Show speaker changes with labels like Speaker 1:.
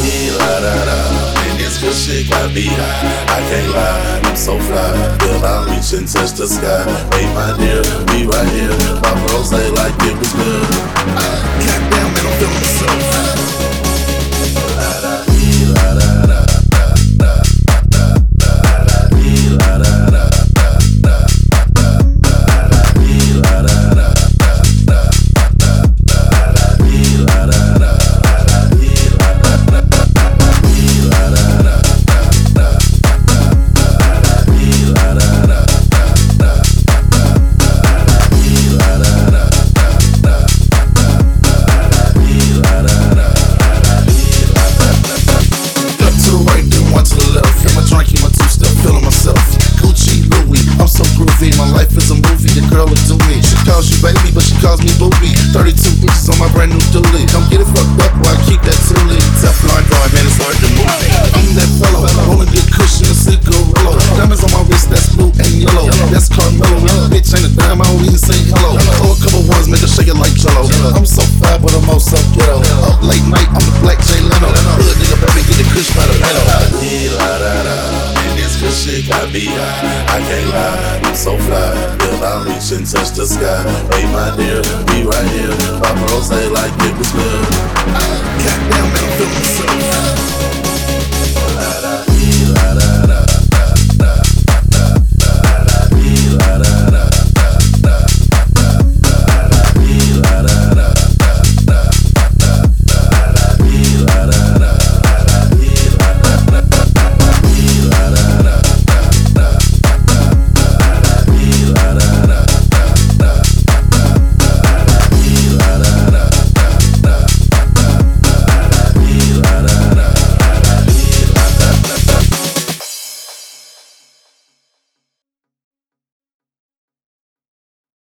Speaker 1: la da da. And this good shit got me high. I can't lie, I'm so fly. Till I reach and touch the sky. Hey my dear, be right here. My bros say like it was good. Goddamn man, I'm feeling myself. La da dee la da da da da da da da dee la da da da da da da dee la da da da da da da dee la da da da dee la da da da dee la da da da da dee la da da da dee la da da da dee la da da. To the right, then one to the left. Got my drink in my two-step, feeling myself. Gucci, Louis, I'm so groovy. My life is a movie, the girl will do me. She calls you baby, but she calls me booby. 32 inches on my brand new dually. Come get it fucked up while I keep that toolie. Teflon guard, man, it's hard to move. I'm that fellow, rolling good cushion, a cigarillo. Diamonds on my wrist, that's blue and yellow. That's Carmelo, bitch ain't a dime, I don't even say hello. Throw a couple ones, make her shake it like Jello. I'm so fly, but I'm also ghetto. Up late night, I'm the black Jay Leno. Hood nigga, baby, get the kush by the pedal. La da da, and this good shit got me high. I can't lie, I'm so fly. Till I reach and touch the sky. Hey my dear, be right here.